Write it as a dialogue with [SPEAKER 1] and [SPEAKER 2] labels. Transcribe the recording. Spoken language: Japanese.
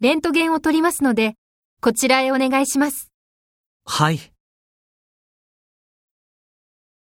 [SPEAKER 1] レントゲンを取りますので、こちらへお願いします。
[SPEAKER 2] はい。